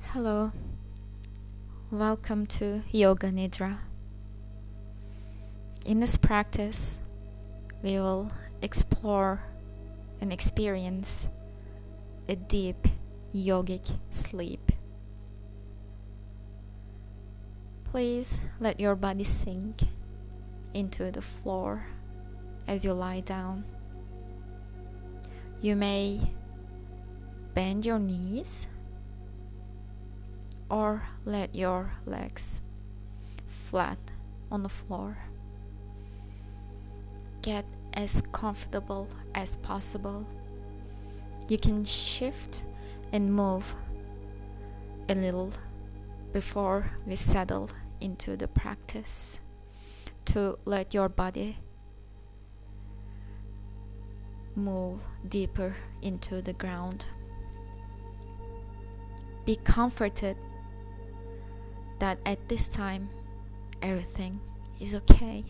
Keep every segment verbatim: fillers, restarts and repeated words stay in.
Hello, welcome to Yoga Nidra. In this practice, we will explore and experience a deep yogic sleep. Please let your body sink into the floor as you lie down. You may bend your knees or let your legs flat on the floor. Get as comfortable as possible. You can shift and move a little before we settle into the practice to let your body move deeper into the ground. Be comforted that at this time everything is okay.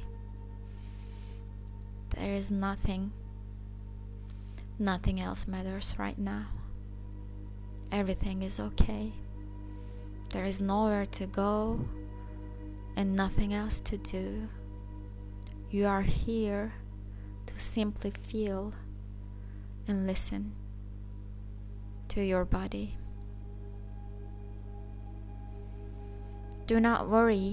There is nothing, nothing else matters right now. Everything is okay. There is nowhere to go and nothing else to do. You are here to simply feel and listen to your body. Do not worry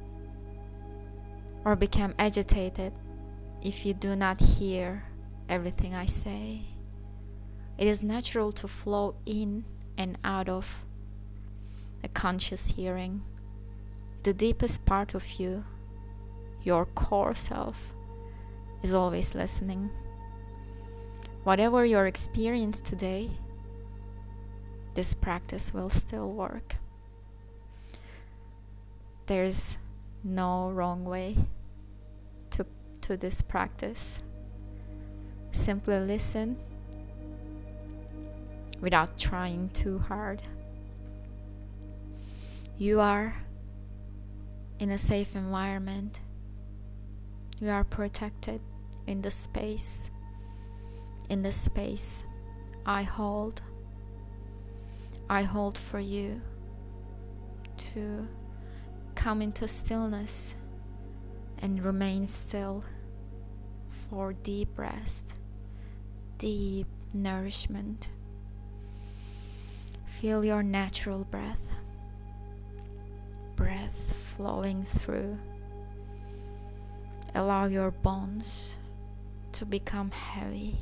or become agitated if you do not hear everything I say. It is natural to flow in and out of a conscious hearing. The deepest part of you, your core self, is always listening. Whatever your experience today, this practice will still work. There's no wrong way to, to this practice. Simply listen without trying too hard. You are in a safe environment. You are protected in the space. In the space I hold. I hold for you to come into stillness and remain still for deep rest, deep nourishment. Feel your natural breath, breath flowing through. Allow your bones to become heavy.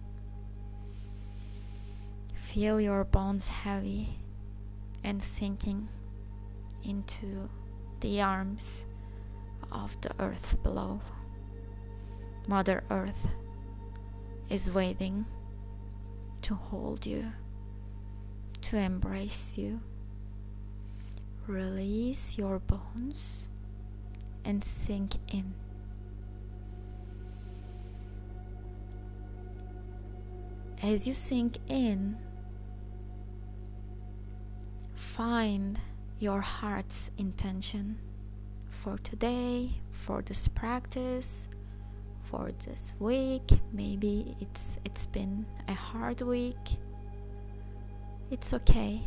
Feel your bones heavy and sinking into the arms of the earth below. Mother Earth is waiting to hold you, to embrace you. Release your bones and sink in. As you sink in, find your heart's intention for today, for this practice, for this week. Maybe it's it's been a hard week. It's okay.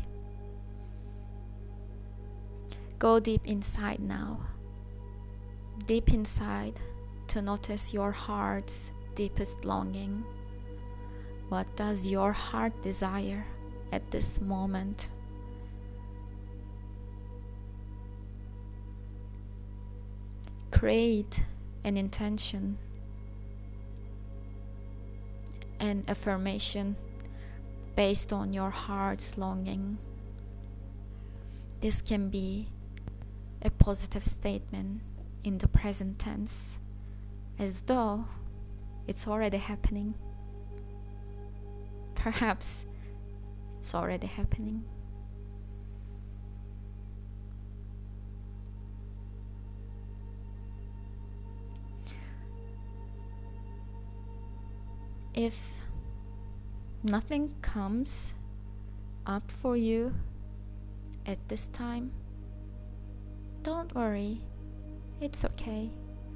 Go deep inside now. Deep inside to notice your heart's deepest longing. What does your heart desire at this moment? Create an intention, an affirmation based on your heart's longing. This can be a positive statement in the present tense, as though it's already happening. Perhaps it's already happening. If nothing comes up for you at this time, don't worry, it's okay.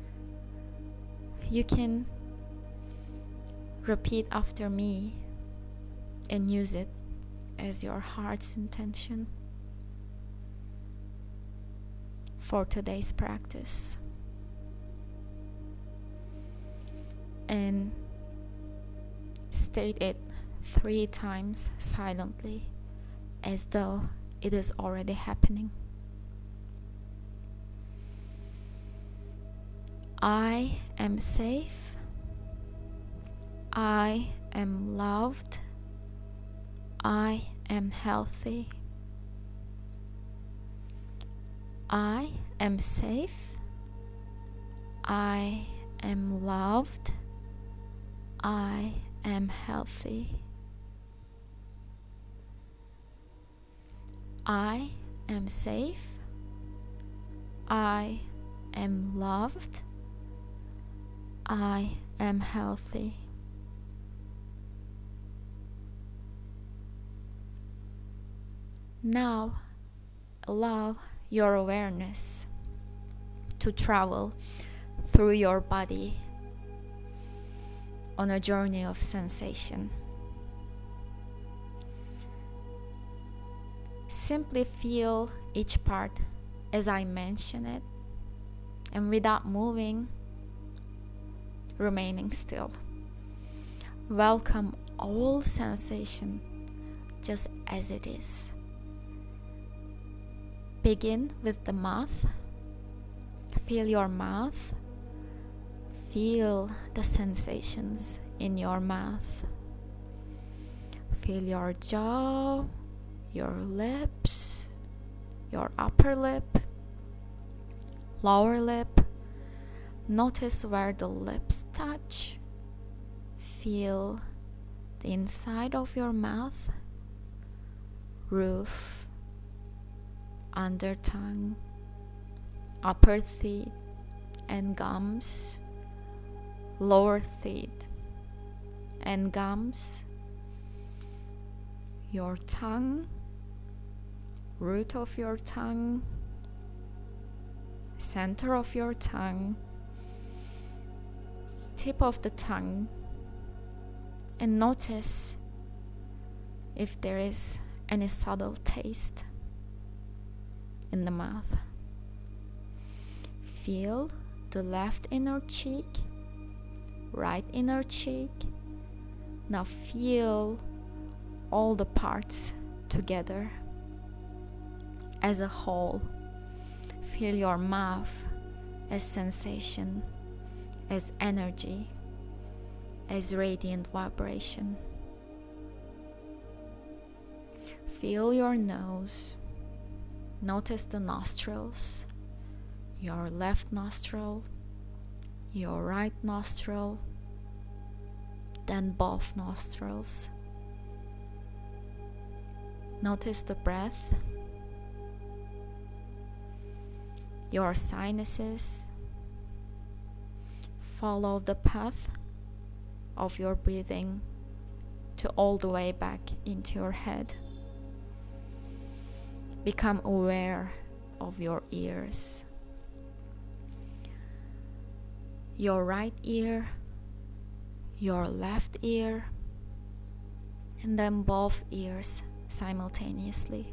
You can repeat after me and use it as your heart's intention. for today's practice. And state it three times silently, as though it is already happening. I am safe. I am loved. I am healthy. I am safe. I am loved. I am healthy. I am safe. I am loved. I am healthy. Now, allow your awareness to travel through your body on a journey of sensation. Simply feel each part as I mention it, and without moving, remaining still. Welcome all sensation just as it is. Begin with the mouth. Feel your mouth. Feel the sensations in your mouth. Feel your jaw, your lips, your upper lip, lower lip. Notice where the lips touch. Feel the inside of your mouth, roof, under tongue, upper teeth and gums, lower teeth and gums, your tongue, root of your tongue, center of your tongue, tip of the tongue, and notice if there is any subtle taste in the mouth. Feel the left inner cheek, right inner cheek. Now feel all the parts together as a whole. Feel your mouth as sensation, as energy, as radiant vibration. Feel your nose. Notice the nostrils, your left nostril, your right nostril, then both nostrils. Notice the breath, your sinuses. Follow the path of your breathing to all the way back into your head. Become aware of your ears. Your right ear, your left ear, and then both ears simultaneously.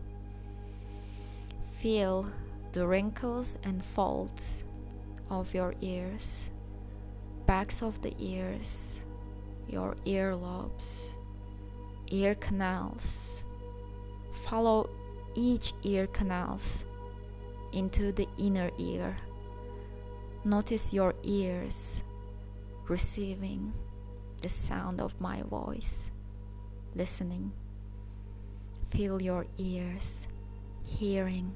Feel the wrinkles and folds of your ears, backs of the ears, your earlobes, ear canals. Follow each ear canals into the inner ear. Notice your ears receiving the sound of my voice, listening. Feel your ears hearing.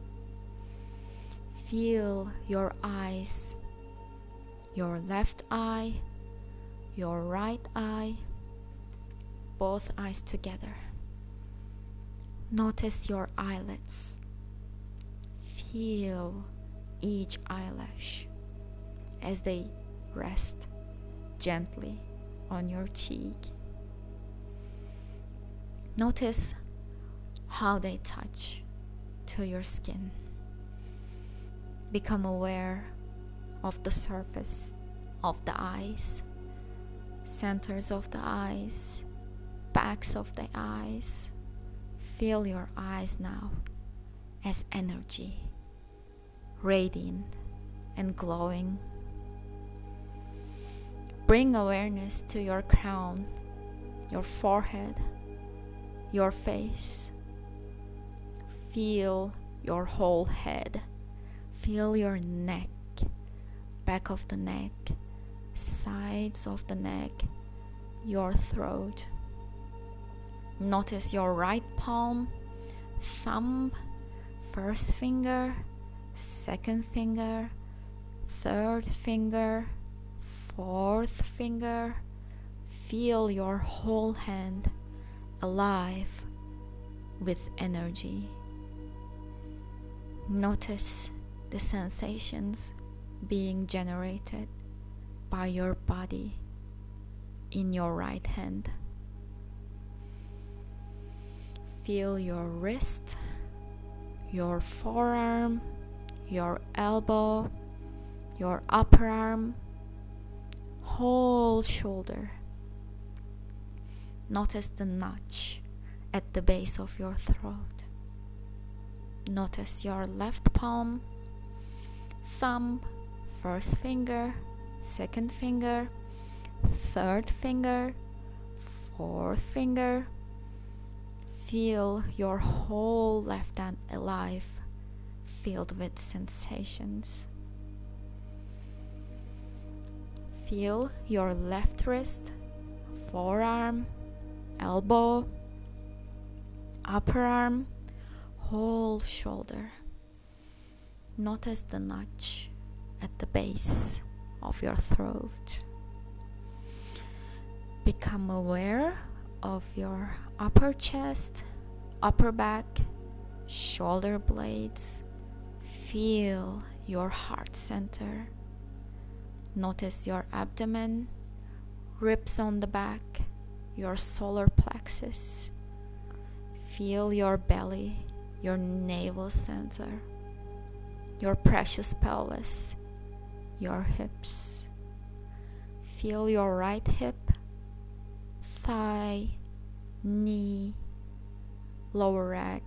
Feel your eyes, your left eye, your right eye, both eyes together. Notice your eyelids. Feel each eyelash as they rest gently on your cheek. Notice how they touch to your skin. Become aware of the surface of the eyes, centers of the eyes, backs of the eyes. Feel your eyes now as energy, radiant and glowing. Bring awareness to your crown, your forehead, your face. Feel your whole head. Feel your neck, back of the neck, sides of the neck, your throat. Notice your right palm, thumb, first finger, second finger, third finger, fourth finger. Feel your whole hand alive with energy. Notice the sensations being generated by your body in your right hand. Feel your wrist, your forearm, your elbow, your upper arm, whole shoulder. Notice the notch at the base of your throat. Notice your left palm, thumb, first finger, second finger, third finger, fourth finger. Feel your whole left hand alive, filled with sensations. Feel your left wrist, forearm, elbow, upper arm, whole shoulder. Notice the notch at the base of your throat. Become aware of your upper chest, upper back, shoulder blades. Feel your heart center. Notice your abdomen, ribs on the back, your solar plexus. Feel your belly, your navel center, your precious pelvis, your hips. Feel your right hip, thigh, knee, lower leg,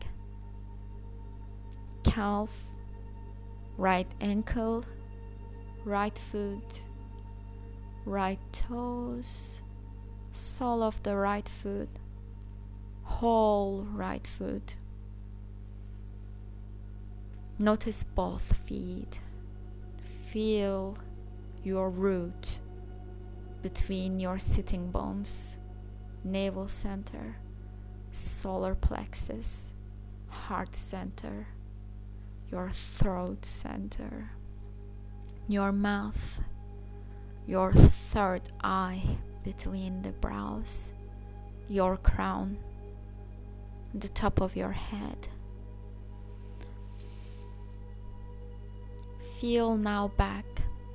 calf, right ankle, right foot, right toes, sole of the right foot, whole right foot. Notice both feet. Feel your root between your sitting bones, navel center, solar plexus, heart center, your throat center, your mouth, your third eye between the brows, your crown, the top of your head. Feel now back,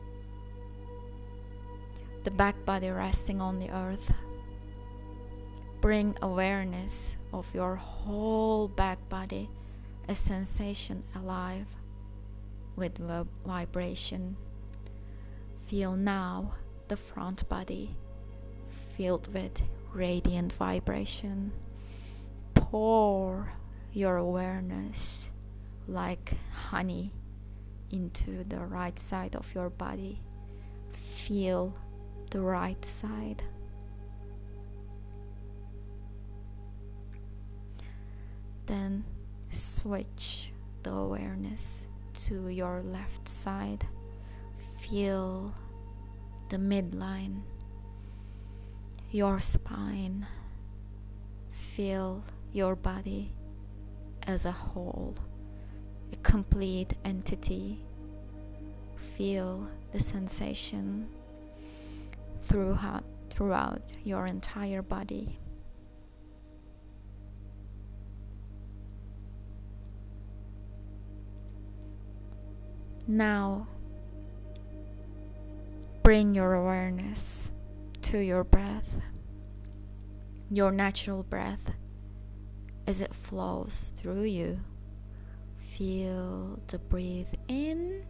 the back body resting on the earth. Bring awareness of your whole back body, a sensation alive with vib- vibration. Feel now the front body filled with radiant vibration. Pour your awareness like honey into the right side of your body. Feel the right side. Then switch the awareness to your left side. Feel the midline, your spine. Feel your body as a whole, a complete entity. Feel the sensation throughout, throughout your entire body. Now, bring your awareness to your breath, your natural breath as it flows through you. Feel the breathe in,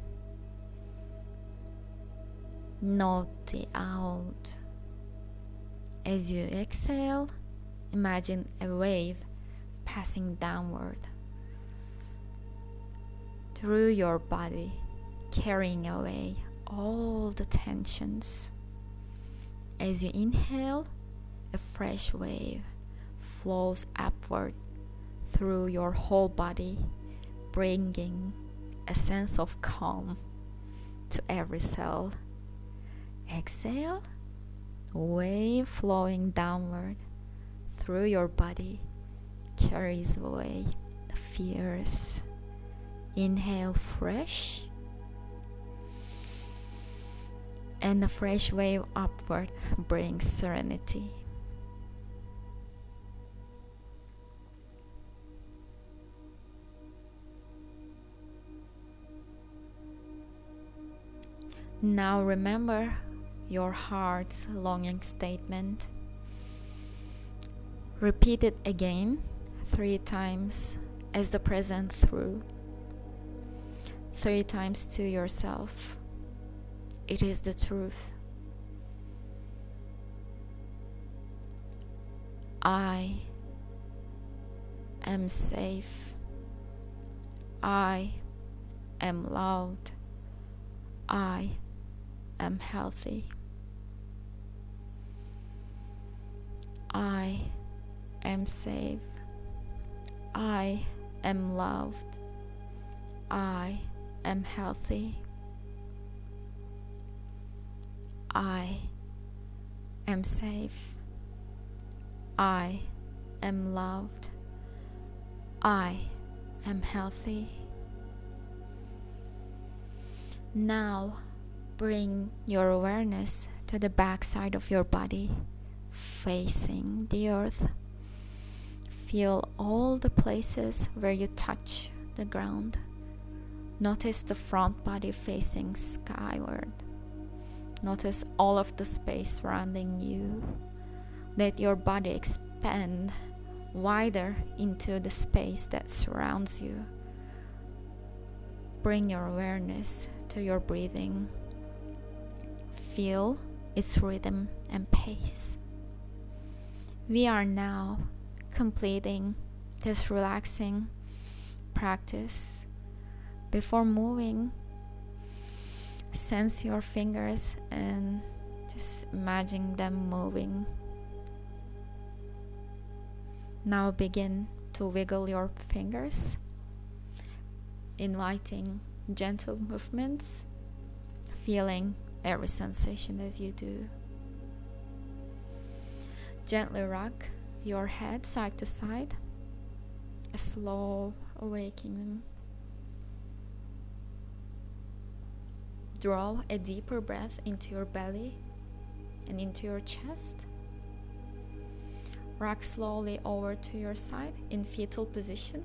note the out. As you exhale, imagine a wave passing downward through your body, carrying away all the tensions. As you inhale, a fresh wave flows upward through your whole body, bringing a sense of calm to every cell. Exhale, wave flowing downward through your body carries away the fears. Inhale fresh, and the fresh wave upward brings serenity. Now remember your heart's longing statement. Repeat it again three times as the present through. Three times to yourself. It is the truth. I am safe. I am loved. I am healthy. I am safe. I am loved. I am healthy. I am safe. I am loved. I am healthy. Now bring your awareness to the back side of your body, facing the earth. Feel all the places where you touch the ground. Notice the front body facing skyward. Notice all of the space surrounding you. Let your body expand wider into the space that surrounds you. Bring your awareness to your breathing. Feel its rhythm and pace. We are now completing this relaxing practice. Before moving, sense your fingers and just imagine them moving. Now begin to wiggle your fingers, inviting gentle movements, feeling every sensation as you do. Gently rock your head side to side, a slow awakening. Draw a deeper breath into your belly and into your chest. Rock slowly over to your side in fetal position.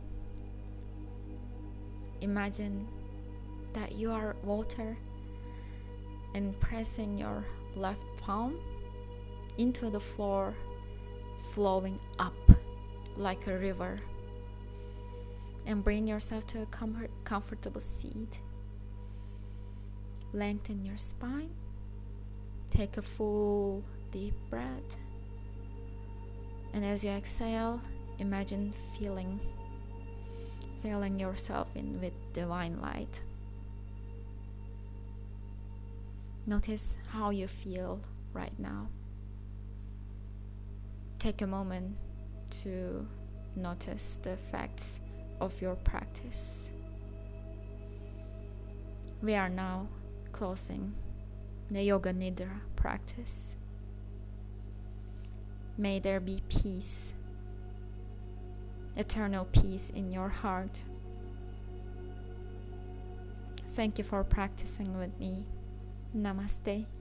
Imagine that you are water and pressing your left palm into the floor, flowing up like a river. And bring yourself to a comfort, comfortable seat. Lengthen your spine. Take a full deep breath. And as you exhale, imagine feeling filling yourself in with divine light. Notice how you feel right now. Take a moment to notice the effects of your practice. We are now closing the Yoga Nidra practice. May there be peace, eternal peace in your heart. Thank you for practicing with me. Namaste.